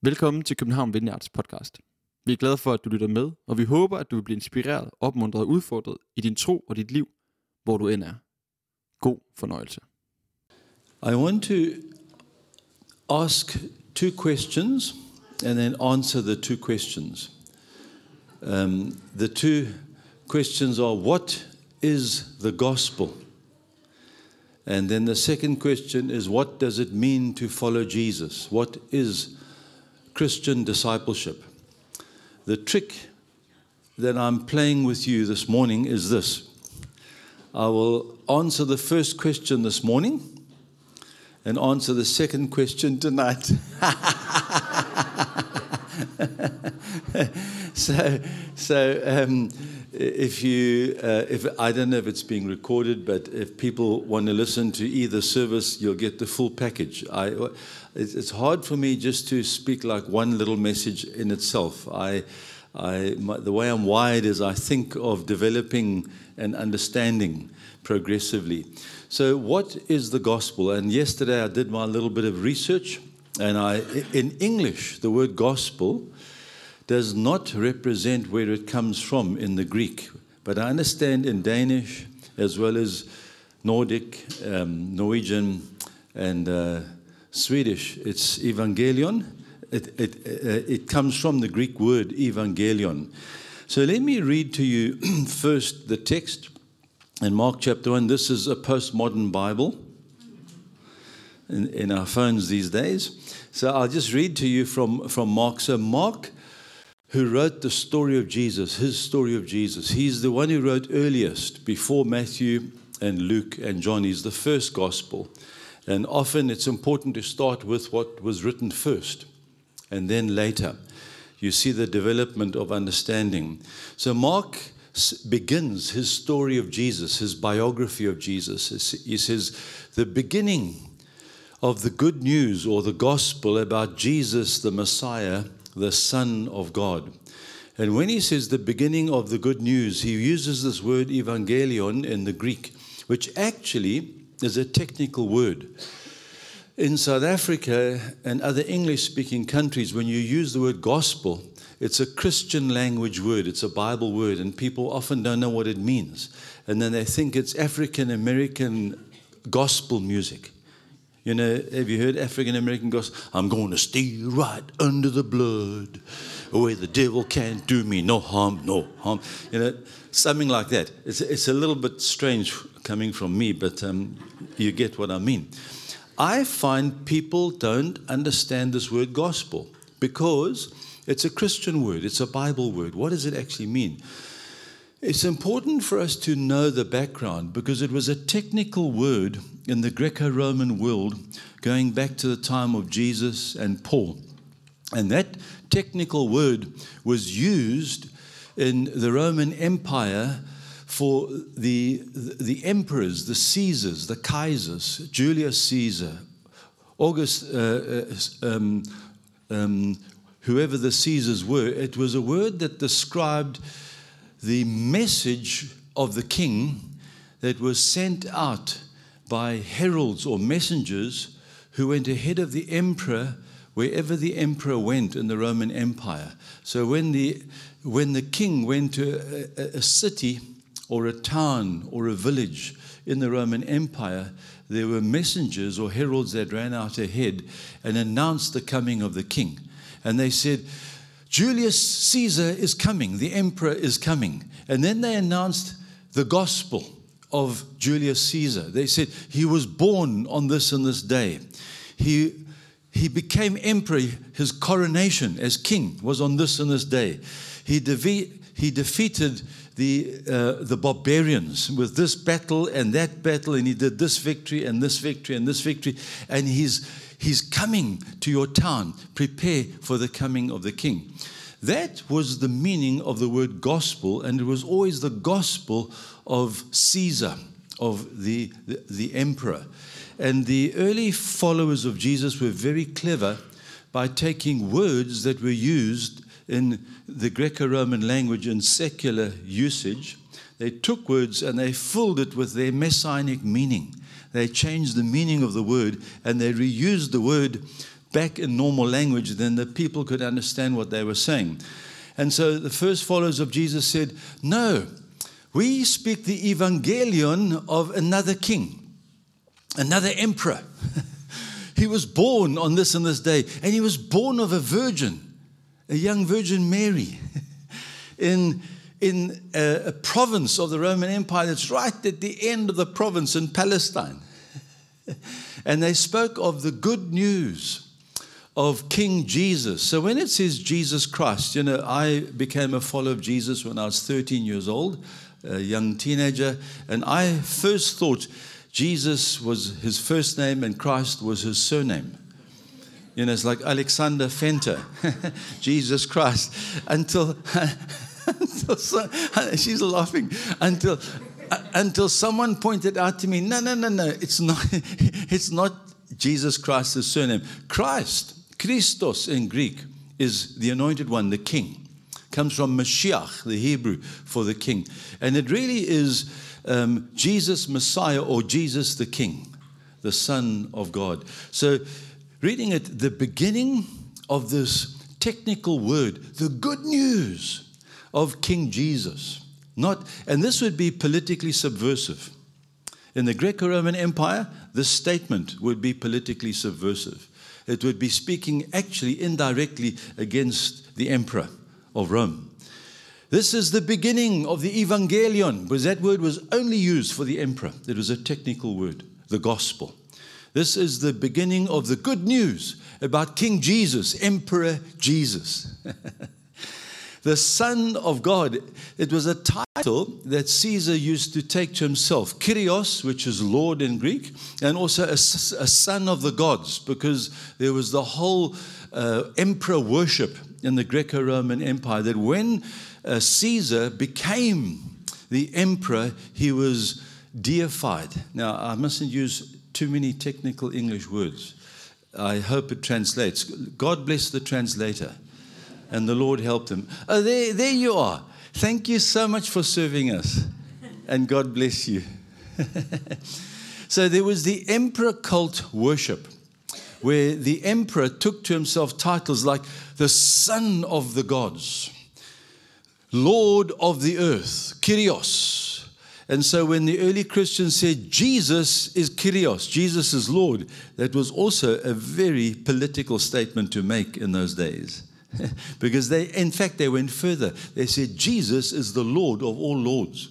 Velkommen til København Vineyards podcast. Vi er glade for, at du lytter med, og vi håber, at du vil blive inspireret, opmuntret og udfordret i din tro og dit liv, hvor du end er. God fornøjelse. I want to ask two questions and then answer the two questions. The two questions are, what is the gospel? And then the second question is, what does it mean to follow Jesus? What is Christian discipleship? The trick that I'm playing with you this morning is this. I will answer the first question this morning and answer the second question tonight. If I don't know if it's being recorded, but if people want to listen to either service, you'll get the full package. It's hard for me just to speak like one little message in itself. The way I'm wired is I think of developing and understanding progressively. So what is the gospel? And yesterday I did my little bit of research, and in English, the word gospel does not represent where it comes from in the Greek. But I understand in Danish, as well as Nordic, Norwegian, and Swedish, it's evangelion. It comes from the Greek word evangelion. So let me read to you first the text in Mark chapter 1. This is a postmodern Bible in our phones these days. So I'll just read to you from Mark. So Mark, who wrote the story of Jesus, his story of Jesus, he's the one who wrote earliest, before Matthew and Luke and John. He's the first gospel. And often it's important to start with what was written first, and then later you see the development of understanding. So Mark begins his story of Jesus, his biography of Jesus. He says, the beginning of the good news or the gospel about Jesus, the Messiah, the Son of God. And when he says the beginning of the good news, he uses this word evangelion in the Greek, which actually is a technical word. In South Africa and other English-speaking countries, when you use the word gospel, it's a Christian language word, it's a Bible word, and people often don't know what it means. And then they think it's African-American gospel music. You know, have you heard African-American gospel? I'm going to stay right under the blood, where the devil can't do me no harm, no harm. You know, something like that. It's a little bit strange coming from me, but you get what I mean. I find people don't understand this word gospel because it's a Christian word, it's a Bible word. What does it actually mean? It's important for us to know the background because it was a technical word in the Greco-Roman world going back to the time of Jesus and Paul. And that technical word was used in the Roman Empire for the emperors, the Caesars, the Kaisers, Julius Caesar, August, whoever the Caesars were. It was a word that described the message of the king that was sent out by heralds or messengers who went ahead of the emperor wherever the emperor went in the Roman Empire. So when the king went to a city or a town or a village in the Roman Empire, there were messengers or heralds that ran out ahead and announced the coming of the king. And they said, Julius Caesar is coming, the emperor is coming. And then they announced the gospel of Julius Caesar. They said he was born on this and this day. He became emperor, his coronation as king was on this and this day. He defeated the barbarians with this battle and that battle, and he did this victory and this victory and this victory, and he's coming to your town. Prepare for the coming of the king. That was the meaning of the word gospel, and it was always the gospel of Caesar, of the emperor. And the early followers of Jesus were very clever by taking words that were used in the Greco-Roman language in secular usage. They took words and they filled it with their messianic meaning. They changed the meaning of the word and they reused the word back in normal language, then the people could understand what they were saying. And so the first followers of Jesus said, no, we speak the evangelion of another king, another emperor. He was born on this and this day, and he was born of a virgin, a young Virgin Mary, in a province of the Roman Empire that's right at the end of the province in Palestine. And they spoke of the good news of King Jesus. So when it says Jesus Christ, I became a follower of Jesus when I was 13 years old, a young teenager, and I first thought Jesus was his first name and Christ was his surname. It's like Alexander Fenter, Jesus Christ, until she's laughing, until someone pointed out to me, no, it's not Jesus Christ's surname. Christ, Christos in Greek, is the anointed one, the king. Comes from Mashiach, the Hebrew for the king. And it really is Jesus Messiah, or Jesus the King, the Son of God. So reading it, the beginning of this technical word, the good news of King Jesus. And this would be politically subversive. In the Greco-Roman Empire, this statement would be politically subversive. It would be speaking actually indirectly against the emperor of Rome. This is the beginning of the evangelion, because that word was only used for the emperor. It was a technical word, the gospel. This is the beginning of the good news about King Jesus, Emperor Jesus. The Son of God. It was a title that Caesar used to take to himself. Kyrios, which is Lord in Greek, and also a son of the gods, because there was the whole emperor worship in the Greco-Roman Empire, that when Caesar became the emperor, he was deified. Now, I mustn't use too many technical English words. I hope it translates. God bless the translator. And the Lord helped him. Oh, there you are. Thank you so much for serving us. And God bless you. So there was the emperor cult worship, where the emperor took to himself titles like the Son of the Gods, Lord of the Earth, Kyrios. And so when the early Christians said Jesus is Kyrios, Jesus is Lord, that was also a very political statement to make in those days. Because in fact, they went further. They said, Jesus is the Lord of all lords.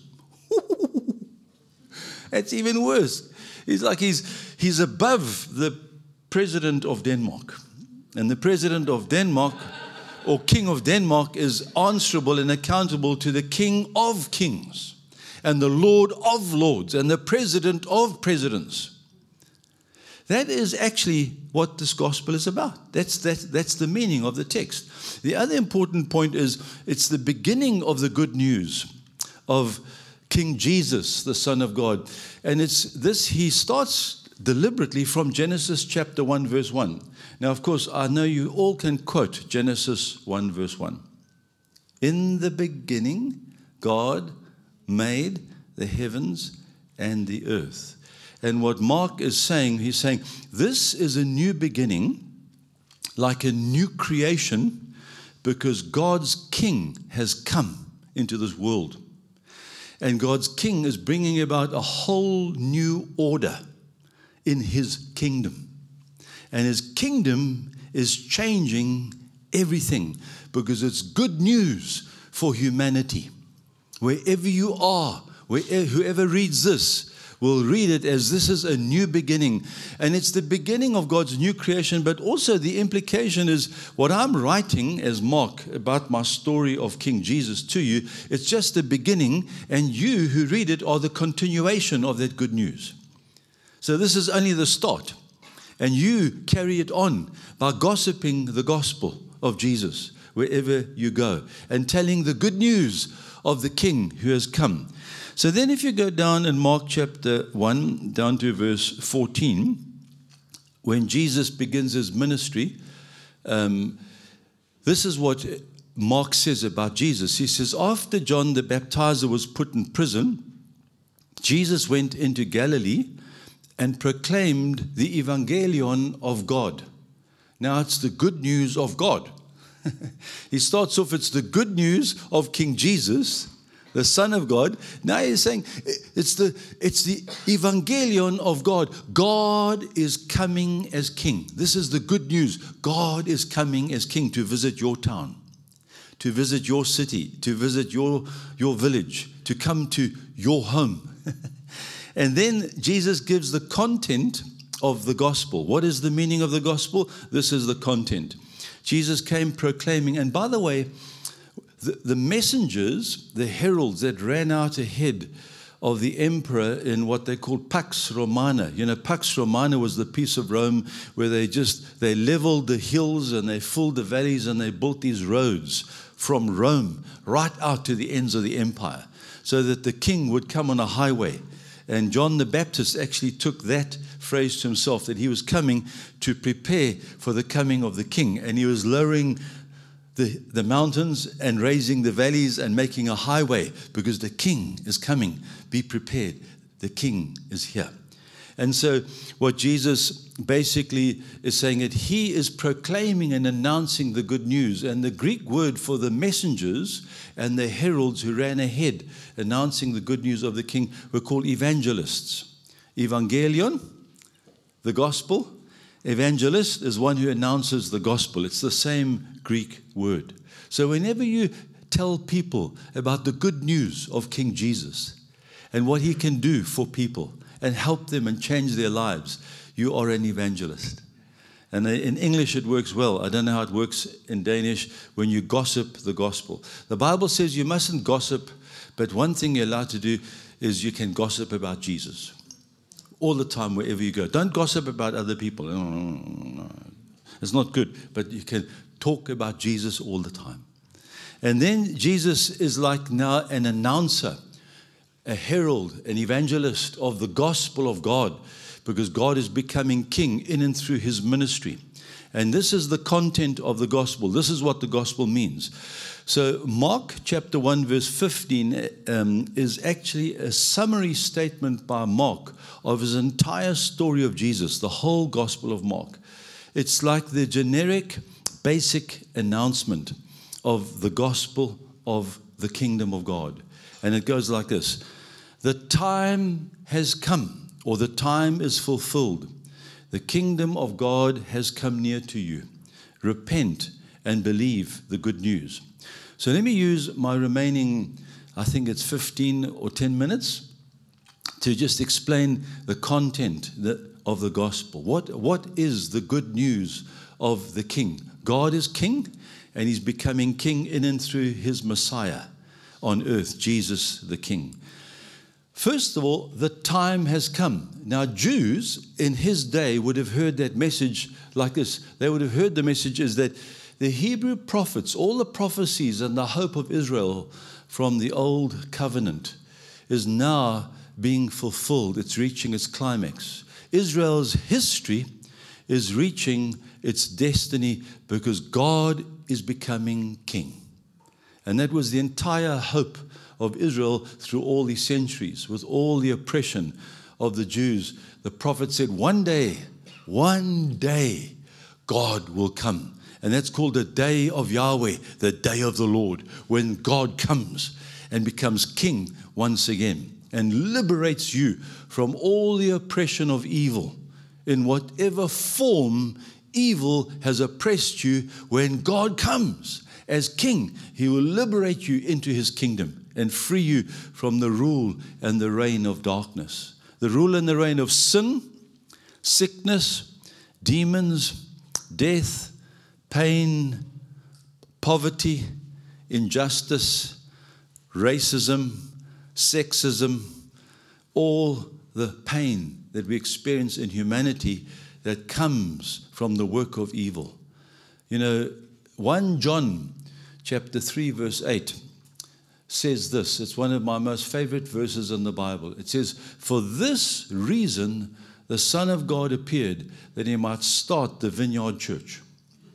That's even worse. He's above the president of Denmark. And the president of Denmark, or king of Denmark, is answerable and accountable to the King of Kings, and the Lord of Lords, and the President of Presidents. That is actually what this gospel is about. That's the meaning of the text. The other important point is it's the beginning of the good news of King Jesus, the Son of God. And he starts deliberately from Genesis chapter 1, verse 1. Now, of course, I know you all can quote Genesis 1, verse 1. In the beginning, God made the heavens and the earth. And what Mark is saying, he's saying, this is a new beginning, like a new creation, because God's King has come into this world. And God's King is bringing about a whole new order in his kingdom. And his kingdom is changing everything, because it's good news for humanity. Wherever you are, whoever reads this will read it as this is a new beginning. And it's the beginning of God's new creation, but also the implication is what I'm writing as Mark about my story of King Jesus to you, it's just the beginning, and you who read it are the continuation of that good news. So this is only the start. And you carry it on by gossiping the gospel of Jesus wherever you go, and telling the good news of the King who has come. So then if you go down in Mark chapter 1, down to verse 14, when Jesus begins his ministry, this is what Mark says about Jesus. He says, after John the Baptizer was put in prison, Jesus went into Galilee and proclaimed the evangelion of God. Now it's the good news of God. He starts off, it's the good news of King Jesus, the Son of God. Now he's saying it's the evangelion of God. God is coming as King. This is the good news. God is coming as King to visit your town, to visit your city, to visit your village, to come to your home. And then Jesus gives the content of the gospel. What is the meaning of the gospel? This is the content. Jesus came proclaiming, and by the way, the messengers, the heralds that ran out ahead of the emperor in what they called Pax Romana. You know, Pax Romana was the piece of Rome where they leveled the hills and they filled the valleys and they built these roads from Rome right out to the ends of the empire so that the king would come on a highway. And John the Baptist actually took that phrase to himself, that he was coming to prepare for the coming of the king. And he was lowering the mountains and raising the valleys and making a highway because the king is coming. Be prepared. The king is here. And so what Jesus basically is saying, that he is proclaiming and announcing the good news. And the Greek word for the messengers and the heralds who ran ahead announcing the good news of the king were called evangelists. Evangelion, the gospel. Evangelist is one who announces the gospel. It's the same Greek word. So whenever you tell people about the good news of King Jesus and what he can do for people and help them and change their lives, you are an evangelist. And in English it works well. I don't know how it works in Danish when you gossip the gospel. The Bible says you mustn't gossip, but one thing you're allowed to do is you can gossip about Jesus. All the time, wherever you go. Don't gossip about other people. No. It's not good. But you can talk about Jesus all the time. And then Jesus is like now an announcer, a herald, an evangelist of the gospel of God, because God is becoming king in and through his ministry. And this is the content of the gospel. This is what the gospel means. So Mark chapter 1 verse 15 is actually a summary statement by Mark of his entire story of Jesus, the whole gospel of Mark. It's like the generic, basic announcement of the gospel of the kingdom of God. And it goes like this. The time has come, or the time is fulfilled. The kingdom of God has come near to you. Repent and believe the good news. So let me use my remaining, I think it's 15 or 10 minutes to just explain the content of the gospel. What is the good news of the king? God is king, and he's becoming king in and through his Messiah on earth, Jesus the king. First of all, the time has come. Now, Jews in his day would have heard that message like this. They would have heard the message is that the Hebrew prophets, all the prophecies and the hope of Israel from the old covenant is now being fulfilled. It's reaching its climax. Israel's history is reaching its destiny because God is becoming king. And that was the entire hope of Israel through all these centuries, with all the oppression of the Jews. The prophet said, one day, God will come. And that's called the day of Yahweh, the day of the Lord, when God comes and becomes king once again and liberates you from all the oppression of evil. In whatever form evil has oppressed you, when God comes as king, he will liberate you into his kingdom and free you from the rule and the reign of darkness. The rule and the reign of sin, sickness, demons, death, pain, poverty, injustice, racism, sexism, all the pain that we experience in humanity that comes from the work of evil. You know, 1 John chapter 3 verse 8 says this. It's one of my most favorite verses in the Bible. It says, for this reason the Son of God appeared, that he might start the Vineyard Church.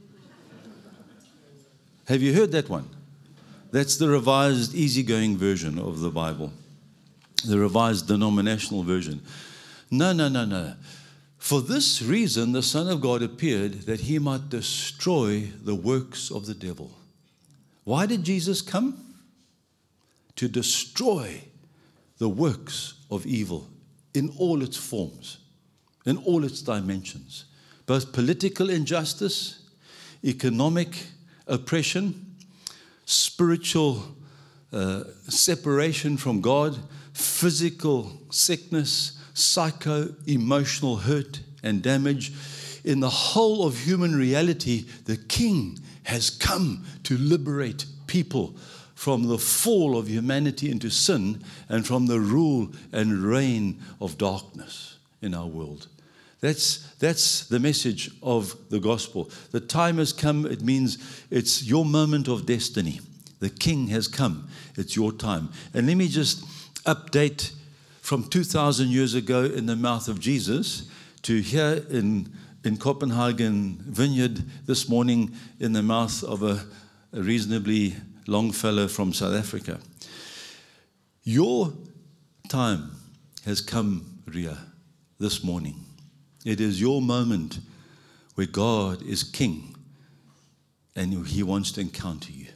Have you heard that one? That's the revised easygoing version of the Bible. The revised denominational version. No. For this reason the Son of God appeared, that he might destroy the works of the devil. Why did Jesus come? To destroy the works of evil in all its forms, in all its dimensions. Both political injustice, economic oppression, spiritual separation from God, physical sickness, psycho-emotional hurt and damage. In the whole of human reality, the King has come to liberate people from the fall of humanity into sin and from the rule and reign of darkness in our world. That's the message of the gospel. The time has come. It means it's your moment of destiny. The King has come. It's your time. And let me just update from 2,000 years ago in the mouth of Jesus to here in Copenhagen Vineyard this morning in the mouth of a reasonably long fellow from South Africa. Your time has come, Ria, this morning. It is your moment where God is King and He wants to encounter you.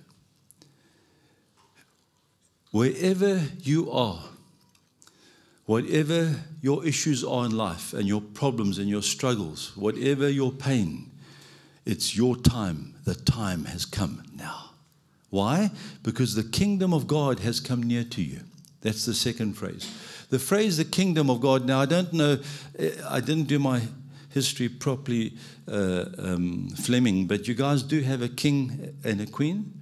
Wherever you are, whatever your issues are in life and your problems and your struggles, whatever your pain, it's your time. The time has come now. Why? Because the kingdom of God has come near to you. That's the second phrase. The phrase, the kingdom of God, now I don't know, I didn't do my history properly, Fleming, but you guys do have a king and a queen?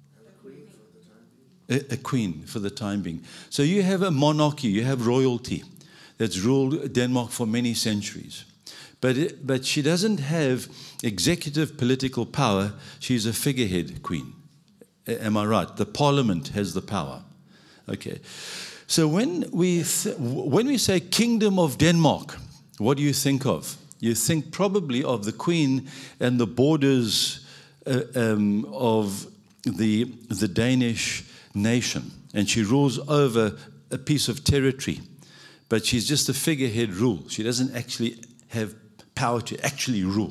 A queen for the time being. So you have a monarchy, you have royalty that's ruled Denmark for many centuries. But she doesn't have executive political power. She's a figurehead queen. Am I right? The parliament has the power. Okay. So when we say Kingdom of Denmark, what do you think of? You think probably of the queen and the borders of the Danish nation. And she rules over a piece of territory. But she's just a figurehead rule. She doesn't actually have power to actually rule.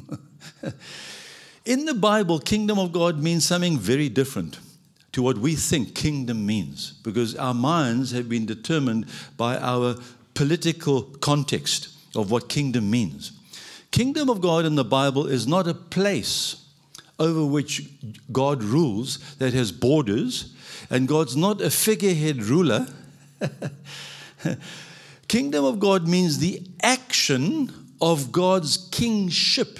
In the Bible, kingdom of God means something very different to what we think kingdom means, because our minds have been determined by our political context of what kingdom means. Kingdom of God in the Bible is not a place over which God rules that has borders, and God's not a figurehead ruler. Kingdom of God means the action of God's kingship,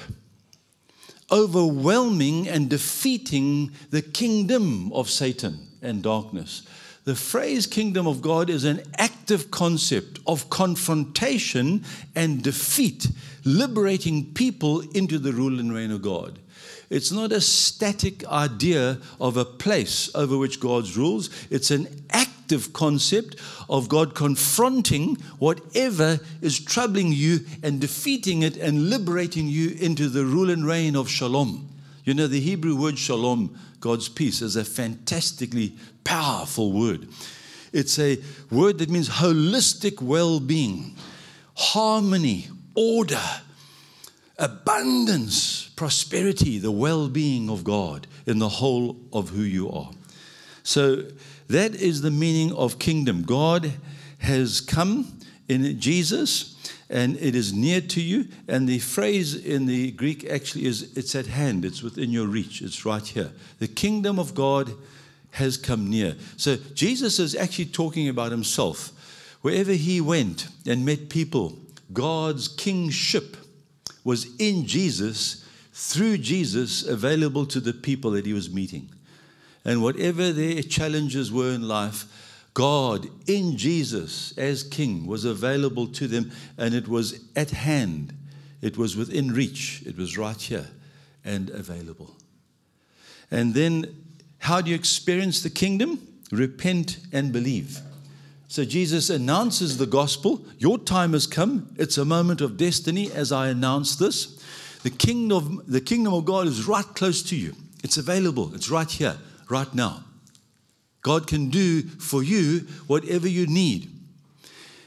overwhelming and defeating the kingdom of Satan and darkness. The phrase kingdom of God is an active concept of confrontation and defeat, liberating people into the rule and reign of God. It's not a static idea of a place over which God rules. It's an active concept of God confronting whatever is troubling you and defeating it and liberating you into the rule and reign of shalom. You know, the Hebrew word shalom, God's peace, is a fantastically powerful word. It's a word that means holistic well-being, harmony, order, abundance, prosperity, the well-being of God in the whole of who you are. So that is the meaning of kingdom. God has come in Jesus, and it is near to you. And the phrase in the Greek actually is, it's at hand, it's within your reach, it's right here. The kingdom of God has come near. So Jesus is actually talking about himself. Wherever he went and met people, God's kingship was in Jesus, through Jesus, available to the people that he was meeting. And whatever their challenges were in life, God in Jesus as King was available to them, and it was at hand. It was within reach. It was right here and available. And then how do you experience the kingdom? Repent and believe. So Jesus announces the gospel. Your time has come. It's a moment of destiny as I announce this. The kingdom of God is right close to you. It's available. It's right here, right now. God can do for you whatever you need.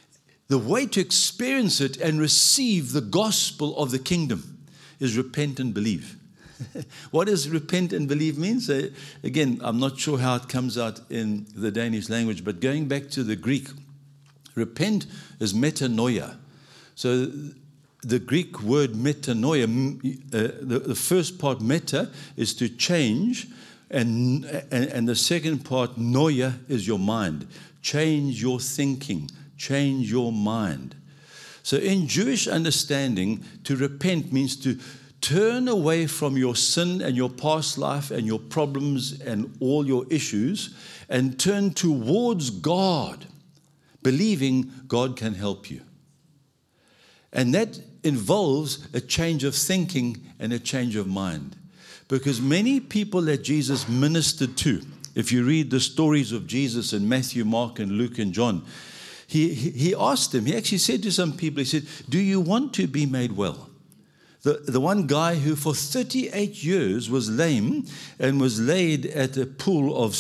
The way to experience it and receive the gospel of the kingdom is repent and believe. What does repent and believe mean? So again, I'm not sure how it comes out in the Danish language, but going back to the Greek, repent is metanoia. So the Greek word metanoia, the first part meta is to change, and the second part noia is your mind. Change your thinking, change your mind. So in Jewish understanding, to repent means to turn away from your sin and your past life and your problems and all your issues and turn towards God, believing God can help you. And that involves a change of thinking and a change of mind. Because many people that Jesus ministered to, if you read the stories of Jesus in Matthew, Mark, and Luke, and John, he asked them, he actually said to some people, he said, do you want to be made well? The one guy who for 38 years was lame and was laid at a pool of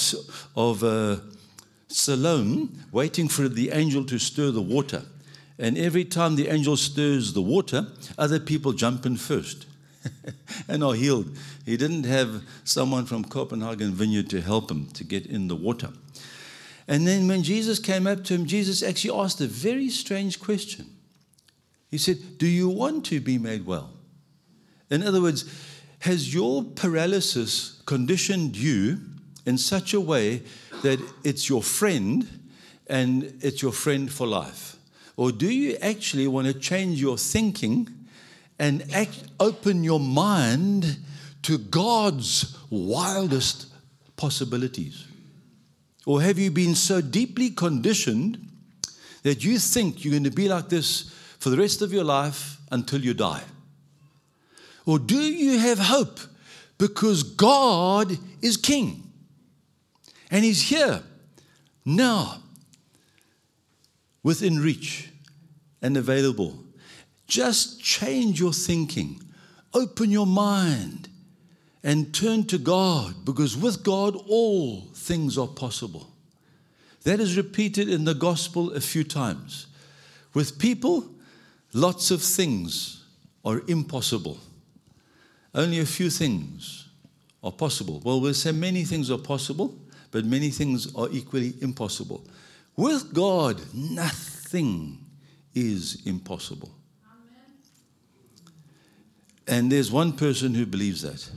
Siloam, waiting for the angel to stir the water. And every time the angel stirs the water, other people jump in first and are healed. He didn't have someone from Copenhagen Vineyard to help him to get in the water. And then when Jesus came up to him, Jesus actually asked a very strange question. He said, do you want to be made well? In other words, has your paralysis conditioned you in such a way that it's your friend and it's your friend for life? Or do you actually want to change your thinking and open your mind to God's wildest possibilities? Or have you been so deeply conditioned that you think you're going to be like this for the rest of your life until you die? Or do you have hope because God is King and He's here now, within reach and available? Just change your thinking, open your mind, and turn to God, because with God all things are possible. That is repeated in the gospel a few times. With people, lots of things are impossible. Only a few things are possible. Well, we'll say many things are possible, but many things are equally impossible. With God, nothing is impossible. Amen. And there's one person who believes that.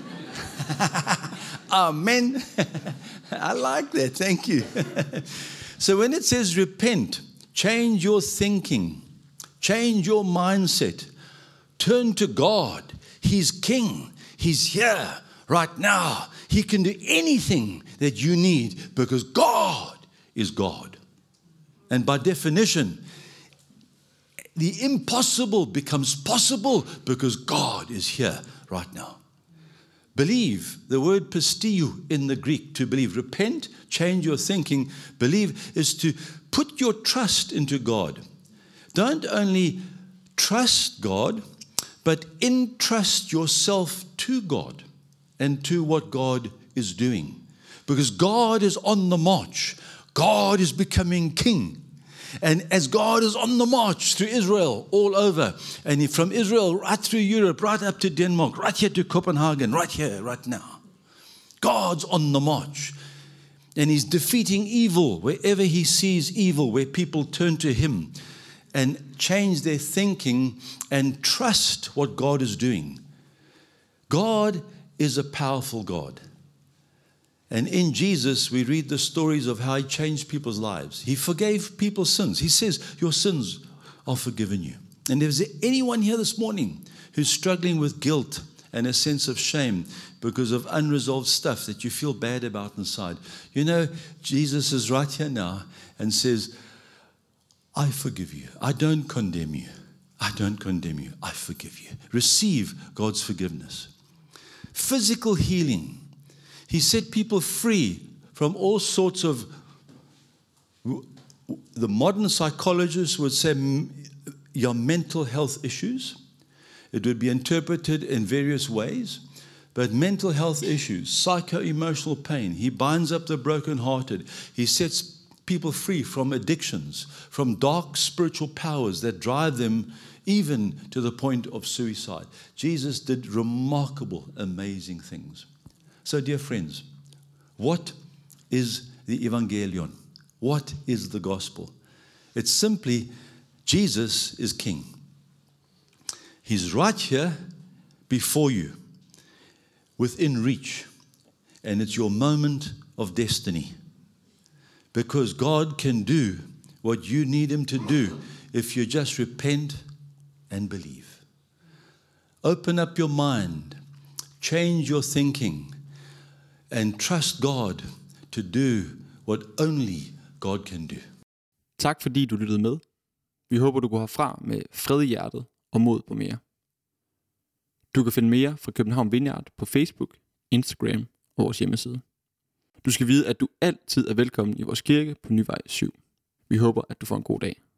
Amen. I like that. Thank you. So when it says repent, change your thinking, change your mindset, turn to God. He's King. He's here right now. He can do anything that you need because God is God. And by definition, the impossible becomes possible because God is here right now. Believe, the word pistiu in the Greek, to believe. Repent, change your thinking. Believe is to put your trust into God. Don't only trust God, but entrust yourself to God and to what God is doing. Because God is on the march. God is becoming King. And as God is on the march through Israel, all over, and from Israel right through Europe, right up to Denmark, right here to Copenhagen, right here, right now. God's on the march. And He's defeating evil wherever He sees evil, where people turn to Him and change their thinking and trust what God is doing. God is a powerful God. And in Jesus, we read the stories of how He changed people's lives. He forgave people's sins. He says, your sins are forgiven you. And if there's anyone here this morning who's struggling with guilt and a sense of shame because of unresolved stuff that you feel bad about inside, you know, Jesus is right here now and says, I forgive you. I don't condemn you. I don't condemn you. I forgive you. Receive God's forgiveness. Physical healing. He set people free from all sorts of, the modern psychologists would say, your mental health issues. It would be interpreted in various ways. But mental health issues, psycho-emotional pain. He binds up the brokenhearted. He sets people free from addictions, from dark spiritual powers that drive them even to the point of suicide. Jesus did remarkable, amazing things. So, dear friends, what is the Evangelion? What is the gospel? It's simply Jesus is King. He's right here before you, within reach, and it's your moment of destiny. Because God can do what you need Him to do if you just repent and believe. Open up your mind, change your thinking, and trust God to do what only God can do. Tak fordi du lyttede med. Vi håber, du går herfra med fred i hjertet og mod på mere. Du kan finde mere fra København Vineyard på Facebook, Instagram og vores hjemmeside. Du skal vide, at du altid er velkommen i vores kirke på Nyvej 7. Vi håber, at du får en god dag.